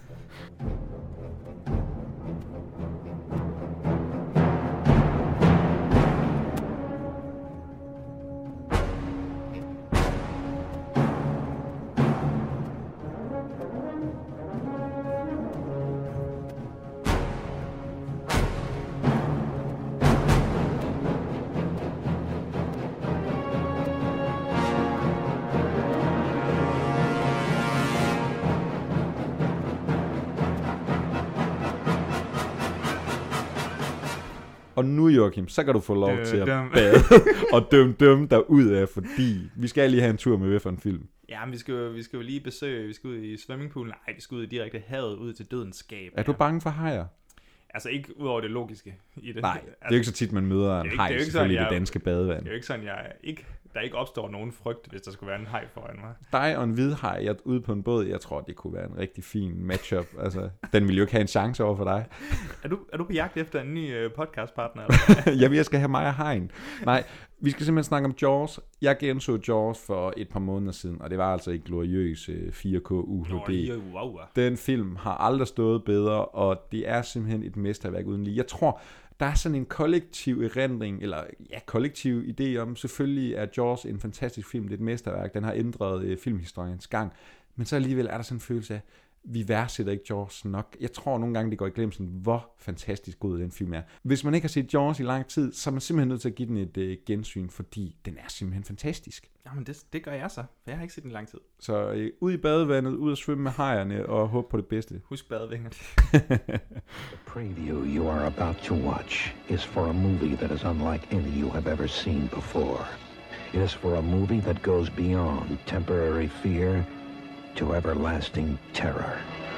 Og nu, Joachim, så kan du få lov til at bade og dømme derudad, fordi vi skal lige have en tur med hvad for en film. Ja, men vi skal jo lige besøge, vi skal ud i swimmingpoolen. Nej, vi skal ud i direkte havet, ud til dødens skab. Er du bange for hajer? Altså ikke ud over det logiske i det. Nej, det er jo ikke så tit, man møder en haj, selvfølgelig i det danske badevand. Det er jo ikke sådan, der ikke opstår nogen frygt, hvis der skulle være en haj foran mig. Dig og en hvid haj, jeg er ude på en båd, jeg tror, det kunne være en rigtig fin matchup. Altså, den ville jo ikke have en chance over for dig. Er du på jagt efter en ny podcastpartner? Eller? Jamen, jeg skal have mig og hajen. Nej, vi skal simpelthen snakke om Jaws. Jeg genså Jaws for et par måneder siden, og det var altså ikke gloriøs 4K UHD. Wow. Den film har aldrig stået bedre, og det er simpelthen et mesterværk uden lige. Jeg tror, der er sådan en kollektiv erindring, eller kollektiv idé om, selvfølgelig er Jaws en fantastisk film, det er et mesterværk, den har ændret filmhistoriens gang, men så alligevel er der sådan en følelse af, vi værdsætter ikke Jaws nok. Jeg tror nogle gange, det går i glemsen, hvor fantastisk god den film er. Hvis man ikke har set Jaws i lang tid, så er man simpelthen nødt til at give den et gensyn, fordi den er simpelthen fantastisk. Jamen det gør jeg så, for jeg har ikke set den i lang tid. Så ud i badevandet, ud at svømme med hajerne og håbe på det bedste. Husk badevingerne. The preview you are about to watch is for a movie that is unlike any you have ever seen before. It is for a movie that goes beyond temporary fear to everlasting terror.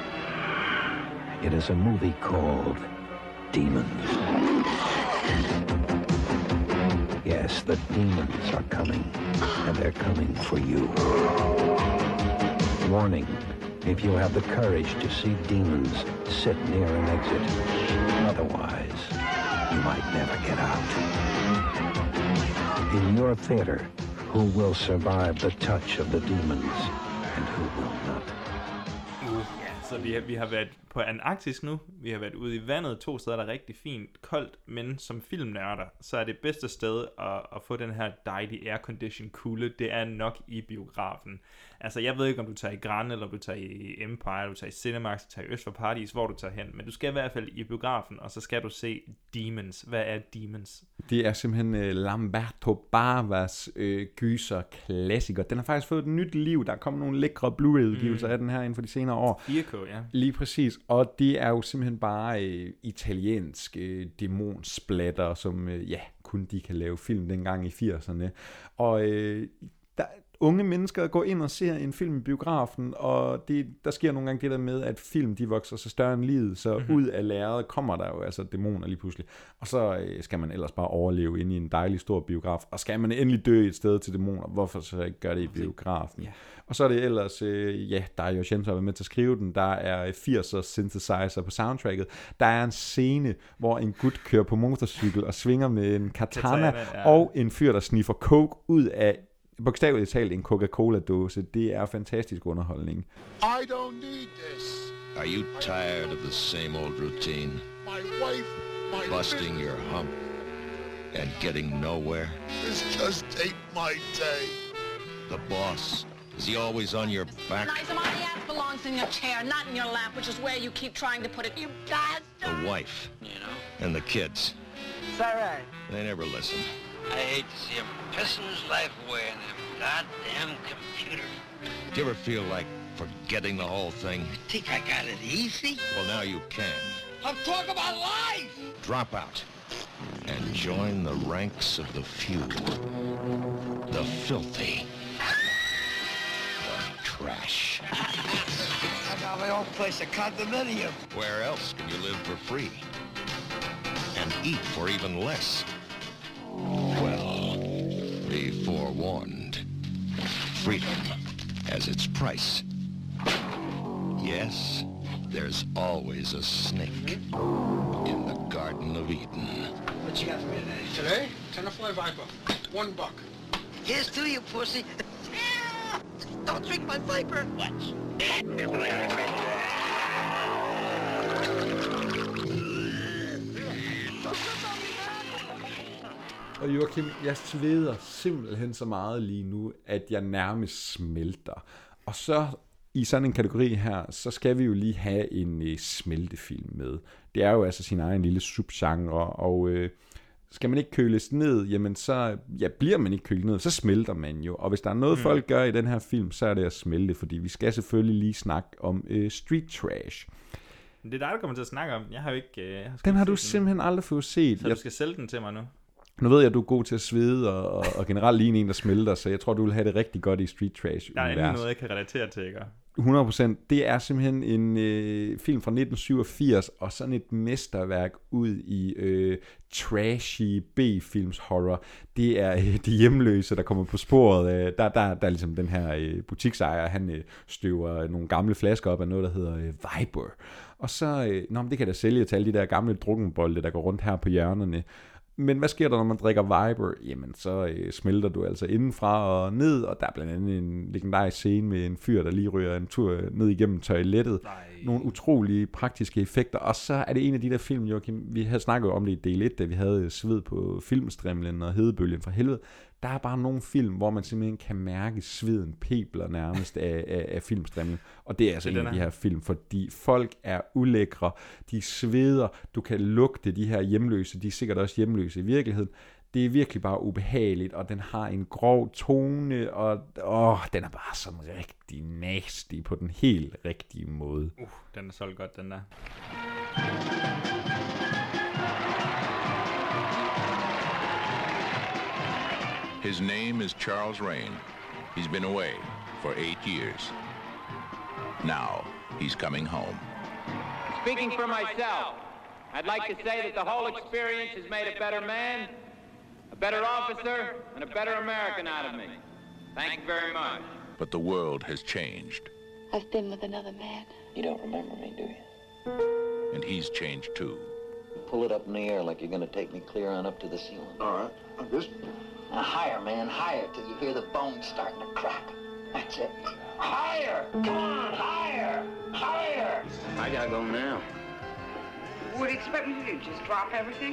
It is a movie called Demons. Yes, the demons are coming, and they're coming for you. Warning, if you have the courage to see demons, sit near an exit. Otherwise, you might never get out. In your theater, who will survive the touch of the demons? And who will not? Så vi har været på Antarktis nu. Vi har været ude i vandet 2 steder, der er rigtig fint, koldt, men som filmnørder, så er det bedste sted at få den her dejlige aircondition kulde, det er nok i biografen. Altså, jeg ved ikke, om du tager i Grand, eller om du tager i Empire, eller du tager i Cinemax, du tager i Øst for Paradis, hvor du tager hen, men du skal i hvert fald i biografen, og så skal du se Demons. Hvad er Demons? Det er simpelthen Lamberto Bavas gyser-klassiker. Den har faktisk fået et nyt liv. Der er kommet nogle lækre Blu-ray-udgivelser af den her inden for de senere år. 4K, ja. Lige præcis. Og det er jo simpelthen bare italiensk dæmonsplatter, som kun de kan lave film dengang i 80'erne. Og unge mennesker går ind og ser en film i biografen, og der sker nogle gange det der med, at film de vokser så større end livet, så ud af lærredet kommer der jo altså dæmoner lige pludselig. Og så skal man ellers bare overleve inde i en dejlig stor biograf. Og skal man endelig dø et sted til dæmoner, hvorfor så ikke gøre det i biografen? Yeah. Og så er det ellers, Dario Argento har været med til at skrive den, der er 80'er synthesizer på soundtracket. Der er en scene, hvor en gut kører på motorcykel og svinger med en katana, og en fyr, der sniffer coke ud af bogstaveligt talt en Coca-Cola-dåse. Det er fantastisk underholdning. I don't need this. Are you tired of the same old routine? My wife, my busting your hump and getting nowhere? This just ain't my day. The boss, is he always on your back? Nice, the ass belongs in your chair, not in your lap, which is where you keep trying to put it. You bastard! The wife, and the kids. Is that right? They never listen. I hate to see him pissing his life away in them goddamn computers. Do you ever feel like forgetting the whole thing? You think I got it easy? Well, now you can. I'm talking about life! Drop out and join the ranks of the few. The filthy. The trash. I got my own place, a condominium. Where else can you live for free? And eat for even less? Well, be forewarned. Freedom has its price. Yes, there's always a snake in the Garden of Eden. What you got for me today? Today, Tenafly Viper. $1. Here's to you, pussy. Don't drink my Viper. Watch. Og Joachim, jeg sveder simpelthen så meget lige nu, at jeg nærmest smelter. Og så i sådan en kategori her, så skal vi jo lige have en smeltefilm med. Det er jo altså sin egen lille subgenre, og skal man ikke køles ned, jamen så bliver man ikke kølet ned, så smelter man jo. Og hvis der er noget, folk gør i den her film, så er det at smelte, fordi vi skal selvfølgelig lige snakke om street trash. Det er dig, der kommer til at snakke om. Jeg har jo ikke... Den har du simpelthen aldrig fået set. Så du skal sælge den til mig nu. Nu ved jeg, at du er god til at svede, og generelt ligne en, der smelter, så jeg tror, du vil have det rigtig godt i street trash. Der er endelig noget, jeg kan relatere til, ikke? 100%. Det er simpelthen en film fra 1987, og sådan et mesterværk ud i trashy B-films horror. Det er de hjemløse, der kommer på sporet. Der er ligesom den her butiksejer, han støver nogle gamle flasker op af noget, der hedder Viper. Og så, det kan da sælge til alle de der gamle drukkenbolde, der går rundt her på hjørnerne. Men hvad sker der, når man drikker Viper? Jamen, så smelter du altså indenfra og ned, og der er blandt andet en legendarisk scene med en fyr, der lige ryger en tur ned igennem toilettet. Nogle utrolige praktiske effekter, og så er det en af de der film, Joachim, vi havde snakket om det i del 1, da vi havde sved på Filmstrimlen og Hedebølgen fra helvede. Der er bare nogle film, hvor man simpelthen kan mærke sveden pebler nærmest af Filmstrimlen. Og det er altså en af de her film, fordi folk er ulækre, de sveder, du kan lugte de her hjemløse, de er sikkert også hjemløse i virkeligheden. Det er virkelig bare ubehageligt, og den har en grov tone, og den er bare sådan rigtig nasty på den helt rigtige måde. Den er solgt godt, den der. His name is Charles Rain. He's been away for 8 years. Now, he's coming home. Speaking for myself, I'd like to say that the whole experience has made a better man, a better officer, and a better American out of me. Thank you very much. But the world has changed. I've been with another man. You don't remember me, do you? And he's changed too. Pull it up in the air like you're gonna take me clear on up to the ceiling. All right. Like this? Now higher, man, higher till you hear the bones starting to crack. That's it. Higher! Come on, higher! Higher! I gotta go now. What do you expect me to do? Just drop everything?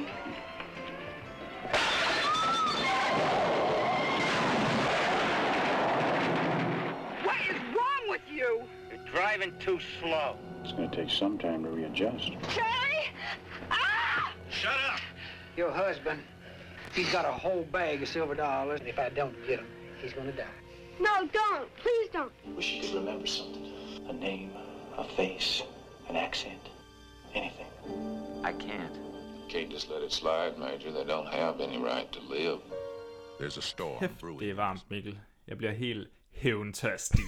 What is wrong with you? You're driving too slow. It's going to take some time to readjust. Jerry! Ah! Shut up! Your husband, he's got a whole bag of silver dollars, and if I don't get him, he's gonna die. No, don't. Please don't. Wish you could remember something. A name, a face, an accent, anything. I can't. Can't just let it slide, Major. They don't have any right to live. There's a storm Kæft, brewing. det er varmt, Mikkel. Jeg bliver helt hævntørstig.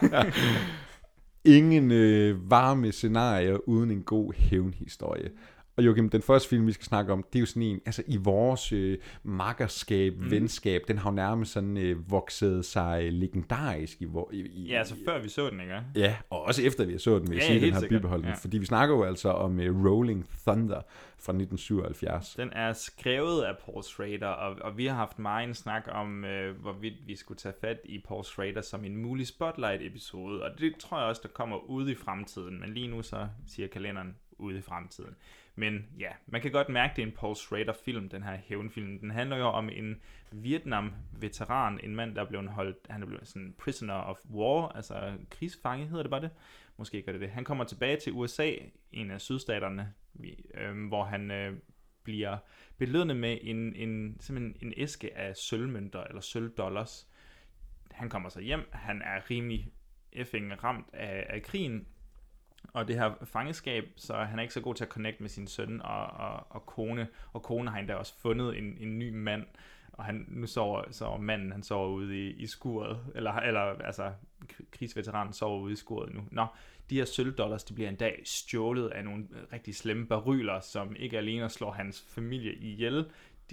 Ingen varme scenarier uden en god hævnhistorie. Og Joachim, den første film, vi skal snakke om, det er jo sådan en, altså i vores makkerskab, venskab, den har jo nærmest sådan vokset sig legendarisk ja, altså før vi så den, ikke? Ja, og også efter vi så den, vil jeg sige, den har bibeholdt den. Fordi vi snakker jo altså om Rolling Thunder fra 1977. Den er skrevet af Paul Schrader, og vi har haft meget en snak om, hvorvidt vi skulle tage fat i Paul Schrader som en mulig Spotlight-episode, og det tror jeg også, der kommer ude i fremtiden, men lige nu så siger kalenderen ude i fremtiden. Men ja, man kan godt mærke, det er en Paul Schrader-film, den her hævnfilm. Den handler jo om en Vietnam-veteran, en mand, der er blevet holdt, han er blevet sådan prisoner of war, altså krigsfange, hedder det bare det? Måske gør det det. Han kommer tilbage til USA, en af sydstaterne, hvor han bliver belønnet med simpelthen en æske af sølvmønter, eller sølvdollars. Han kommer så hjem, han er rimelig effing ramt af krigen, og det her fangeskab, så han er ikke så god til at connecte med sin søn og kone, og kone har endda også fundet en ny mand, og nu sover manden, han sover ude i skuret, eller altså krigsveteranen sover ude i skuret nu. Nå, de her sølvdollars, de bliver en dag stjålet af nogle rigtig slemme baryler, som ikke alene slår hans familie ihjel,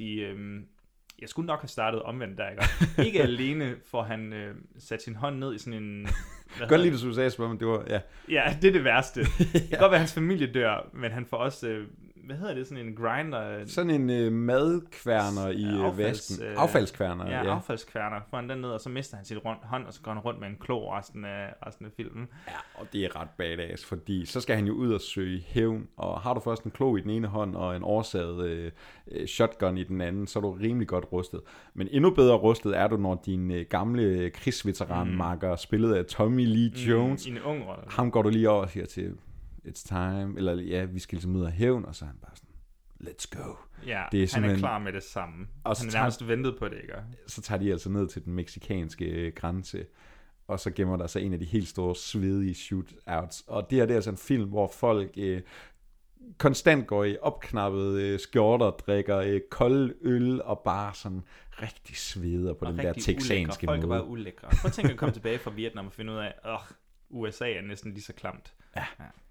jeg skulle nok have startet omvendt der, ikke? Ikke alene får han sat sin hånd ned i sådan en... Godt lige, du sagde, men det var... Ja. Ja, det er det værste. Det kan godt være, at hans familie dør, men han får også... hvad hedder det? Sådan en grinder? Sådan en madkværner i vasken. Affaldskværner. Ja, affaldskværner. Får han den ned, og så mister han sit hånd, og så går han rundt med en klo resten af filmen. Ja, og det er ret badass, fordi så skal han jo ud og søge hævn, og har du først en klo i den ene hånd, og en oversaget shotgun i den anden, så er du rimelig godt rustet. Men endnu bedre rustet er du, når din gamle krigsveteranmarker, spillet af Tommy Lee Jones, en ung rolle. Ham går du lige over og siger til... It's time, eller ja, vi skal ligesom ud af hævn, og så er han bare sådan, let's go. Ja, det er han er klar med det samme. Og han er nærmest ventet på det, ikke? Så tager de altså ned til den mexikanske grænse, og så gemmer der sig en af de helt store svedige shootouts. Og det er altså en film, hvor folk konstant går i opknappede skjorter, drikker kold øl, og bare sådan rigtig sveder på og den der texanske måde. Folk er bare ulækre. Prøv at tænke at komme tilbage fra Vietnam og finde ud af, USA er næsten lige så klamt. Ja.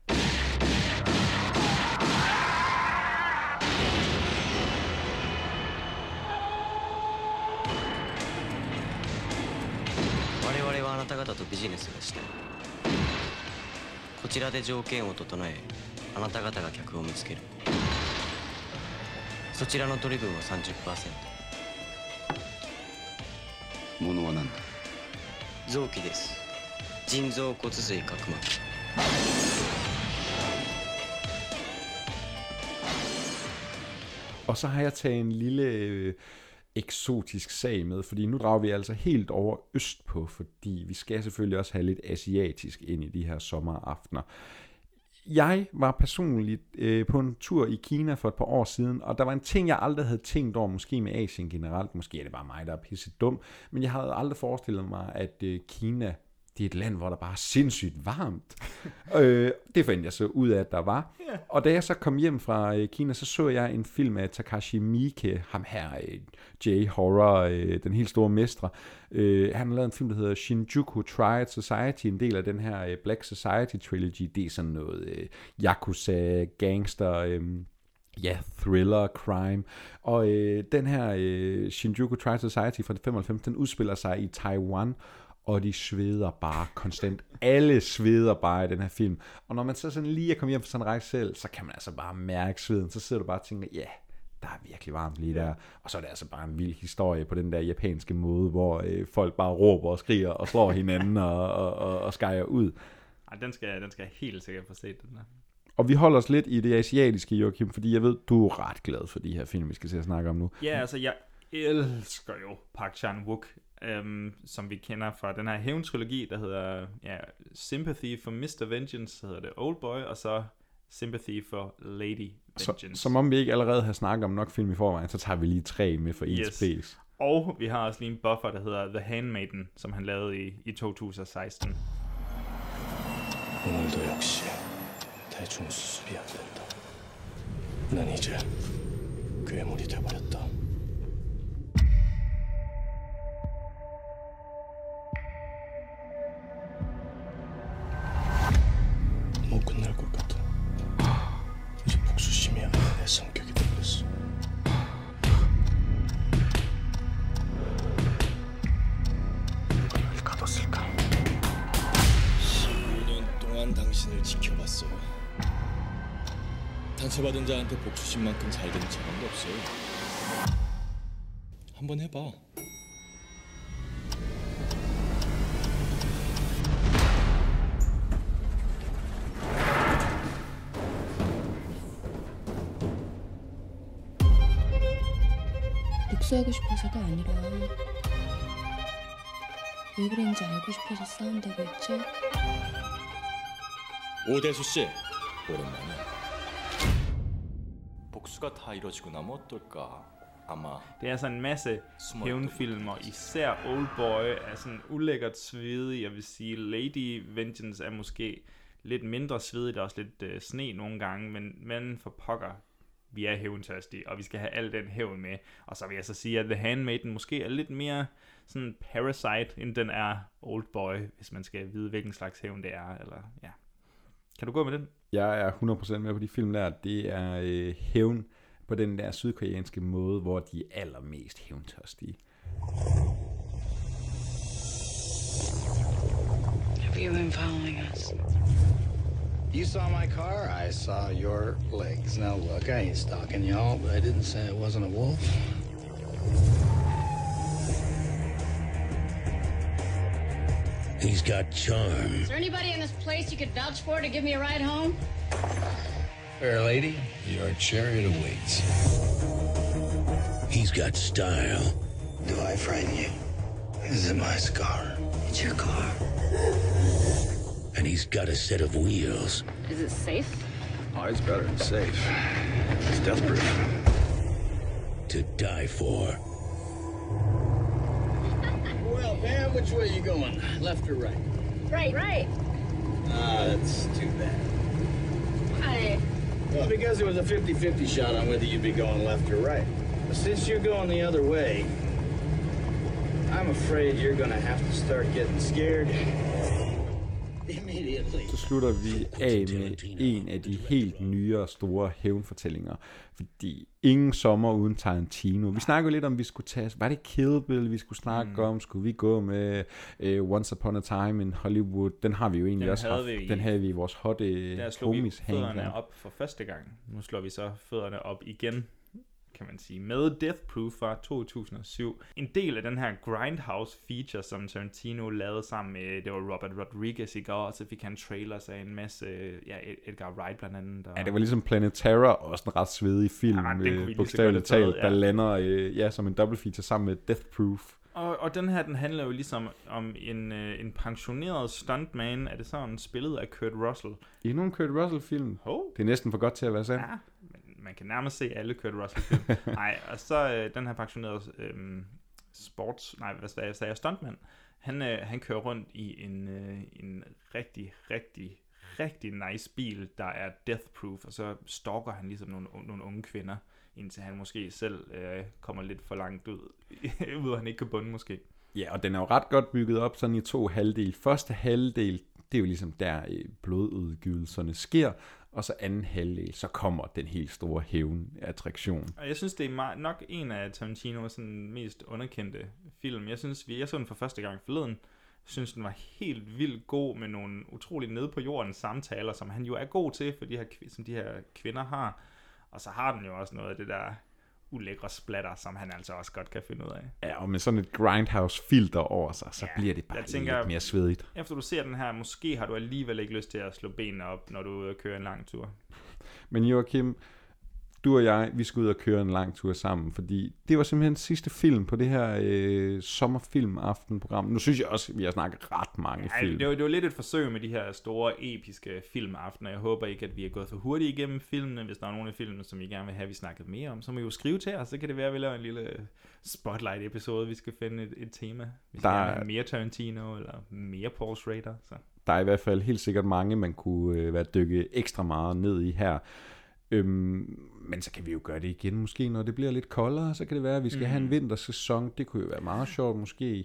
Og så har jeg taget en lille eksotisk sag med, fordi nu drager vi altså helt over østpå, fordi vi skal selvfølgelig også have lidt asiatisk ind i de her sommeraftener. Jeg var personligt på en tur i Kina for et par år siden, og der var en ting, jeg aldrig havde tænkt over, måske med Asien generelt, måske er det bare mig, der er pisse dum, men jeg havde aldrig forestillet mig, at Kina, det er et land, hvor der bare er sindssygt varmt. Det fandt jeg så ud af, at der var. Yeah. Og da jeg så kom hjem fra Kina, så jeg en film af Takashi Miike, ham her, J-horror, den helt store mestre. Han har lavet en film, der hedder Shinjuku Triad Society, en del af den her Black Society Trilogy. Det er sådan noget yakuza, gangster, thriller, crime. Og den her Shinjuku Triad Society fra 95, den udspiller sig i Taiwan, og de sveder bare konstant. Alle sveder bare i den her film. Og når man så sådan lige er kommet hjem fra sådan en rejse selv, så kan man altså bare mærke sveden. Så sidder du bare og tænker, ja, der er virkelig varmt lige der. Og så er det altså bare en vild historie på den der japanske måde, hvor folk bare råber og skriger og slår hinanden og skærer ud. Ej, den skal jeg helt sikkert få set, den der. Og vi holder os lidt i det asiatiske, Joachim, fordi jeg ved, du er ret glad for de her film, vi skal til at snakke om nu. Ja, altså jeg elsker jo Park Chan-wook, som vi kender fra den her hævntrilogi, der hedder Sympathy for Mr. Vengeance, så hedder det Oldboy, og så Sympathy for Lady Vengeance. Som om vi ikke allerede har snakket om nok film i forvejen, så tager vi lige 3 med for each space. Og vi har også lige en buffer, der hedder The Handmaiden, som han lavede i 2016. 오늘도 역시 대충 수습이 안 된다. 난 이제 괴물이 돼버렸다. 못 끝날 것 같아. 이제 복수심이 아닌 내 성격이 돼버렸어. 누가 널 가뒀을까? 15년 동안 당신을 지켜봤어요. 상처받은 자한테 복수심만큼 잘 되는 사람도 없어요. 한번 해봐. 복수하고 싶어서가 아니라 왜 그랬는지 알고 싶어서 싸운다고 했죠? 오대수 씨, 오랜만에. 복수가 다 이루어지고 나면 어떨까? 아마. Det er altså en masse hævnfilm, og især Oldboy er sådan ulækkert svedig. Jeg vil sige, Lady Vengeance er måske lidt mindre svedig, der er også lidt sne nogle gange, men for pokker, vi er hævntørstige, og vi skal have al den hævn med. Og så vil jeg så sige, at The Handmaiden måske er lidt mere sådan Parasite, end den er Oldboy, hvis man skal vide, hvilken slags hævn det er. Eller, ja. Kan du gå med den? Jeg er 100% med på de film der. Det er hævn på den der sydkoreanske måde, hvor de er allermest hævntørstige. Have you been following us? You saw my car, I saw your legs. Now look, I ain't stalking y'all, but I didn't say I wasn't a wolf. He's got charm. Is there anybody in this place you could vouch for to give me a ride home? Fair lady, your chariot awaits. He's got style. Do I frighten you? Is it my car? It's your car. And he's got a set of wheels. Is it safe? Oh, it's better than safe. It's death-proof. To die for. Well, Pam, which way you going? Left or right? Right. That's too bad. Why? Well, because it was a 50-50 shot on whether you'd be going left or right. But since you're going the other way, I'm afraid you're gonna have to start getting scared. Så slutter vi af med en af de helt nyere store hævnfortællinger, fordi ingen sommer uden Tarantino. Vi snakkede lidt om, vi skulle tage, var det Kill Bill, vi skulle snakke om, skulle vi gå med Once Upon a Time in Hollywood, den har vi jo egentlig også haft, den havde vi i vores hotte homies. Der slog vi fødderne op for første gang, nu slår vi så fødderne op igen, kan man sige, med Death Proof fra 2007. En del af den her Grindhouse feature, som Tarantino lavede sammen med, det var Robert Rodriguez i går, og så fik han trailers af en masse, Edgar Wright blandt andet. Ja, det var ligesom Planet Terror, også en ret svedig film, bogstaveligt talt, der lander som en double feature sammen med Death Proof. Og den her, den handler jo ligesom om en pensioneret stuntman, er det sådan, spillet af Kurt Russell. Endnu en Kurt Russell-film. Det er næsten for godt til at være sandt. Ja, man kan nærmest se alle Kurt Russell-film. Nej, og så den her pensionerede stuntman, han kører rundt i en rigtig nice bil, der er death-proof, og så stalker han ligesom nogle unge kvinder, indtil han måske selv kommer lidt for langt ud, ud og han ikke kan bunde måske. Ja, og den er jo ret godt bygget op sådan i 2 halvdele. Første halvdel, det er jo ligesom der blodudgydelserne sker, og så anden halvdel, så kommer den helt store hævn-attraktion. Og jeg synes, det er nok en af Tarantinos sådan mest underkendte film. Jeg så den for første gang forleden. Jeg synes, den var helt vildt god med nogle utrolig nede på jorden samtaler, som han jo er god til, for som de her kvinder har. Og så har den jo også noget af det der ulækre splatter, som han altså også godt kan finde ud af. Ja, og med sådan et grindhouse-filter over sig, så bliver det bare lidt mere svedigt. Efter du ser den her, måske har du alligevel ikke lyst til at slå benene op, når du er ude og køre en lang tur. Men Joachim, du og jeg, vi skal ud og køre en lang tur sammen, fordi det var simpelthen sidste film på det her sommerfilmaftenprogram. Nu synes jeg også, at vi har snakket ret mange film. Det var lidt et forsøg med de her store, episke filmaftener. Jeg håber ikke, at vi er gået for hurtigt igennem filmene. Hvis der er nogle af filmene, som I gerne vil have, vi snakket mere om, så må I jo skrive til os. Så kan det være, at vi laver en lille spotlight-episode. Vi skal finde et tema. Vi skal have mere Tarantino eller mere Paul Schrader. Så. Der er i hvert fald helt sikkert mange, man kunne dykke ekstra meget ned i her. Men så kan vi jo gøre det igen måske, når det bliver lidt koldere, så kan det være, at vi skal have en vintersæson. Det kunne jo være meget sjovt måske.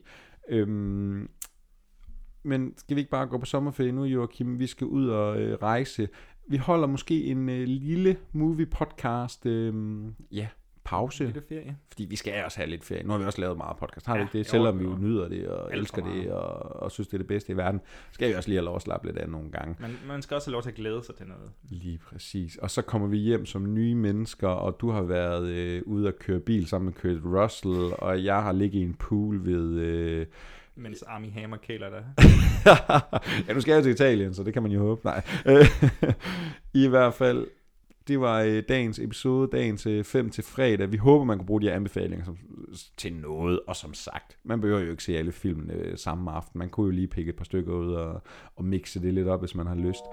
Men skal vi ikke bare gå på sommerferie nu, Joachim? Vi skal ud og rejse. Vi holder måske en lille movie podcast pause. Lidt ferie. Fordi vi skal også have lidt ferie. Nu har vi også lavet meget podcast. Har vi ikke det? Selvom vi jo nyder det og elsker det og synes, det er det bedste i verden, skal vi også lige have lov at slappe lidt af nogle gange. Men man skal også have lov til at glæde sig til noget. Lige præcis. Og så kommer vi hjem som nye mennesker, og du har været ude at køre bil sammen med Kurt Russell, og jeg har ligget i en pool ved... Mens Armie Hammer kæler dig. Ja, nu skal jeg til Italien, så det kan man jo håbe. Nej. I hvert fald... Det var dagens episode, dagens 5 til fredag. Vi håber, man kunne bruge de her anbefalinger til noget. Og som sagt, man behøver jo ikke se alle filmene samme aften. Man kunne jo lige pikke et par stykker ud og mixe det lidt op, hvis man har lyst.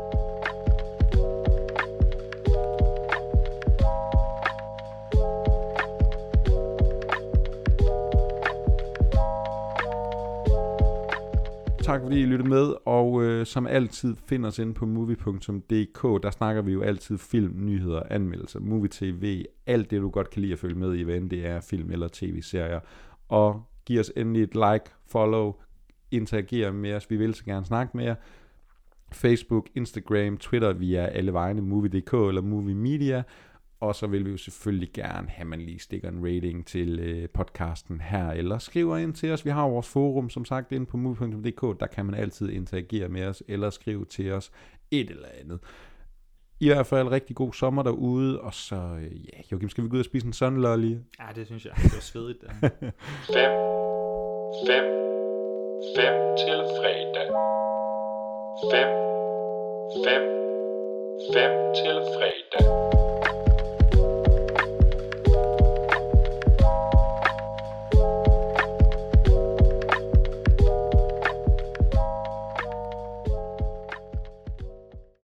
Tak fordi I lyttede med, og som altid find os inde på movie.dk. Der snakker vi jo altid film, nyheder, anmeldelser, movie tv, alt det du godt kan lide at følge med i, hvad end det er film eller tv-serier. Og giv os endelig et like, follow, interagere med os, vi vil så gerne snakke med jer. Facebook, Instagram, Twitter, vi er alle vegne, movie.dk eller Movie Media. Og så vil vi jo selvfølgelig gerne have, man lige stikker en rating til podcasten her, eller skriver ind til os. Vi har vores forum, som sagt, inde på movie.dk. Der kan man altid interagere med os, eller skrive til os et eller andet. I hvert fald rigtig god sommer derude, og så, Joachim, skal vi gå ud og spise en sunlolly? Ja, det synes jeg. Det var svedigt. 5 til fredag. 5 til fredag.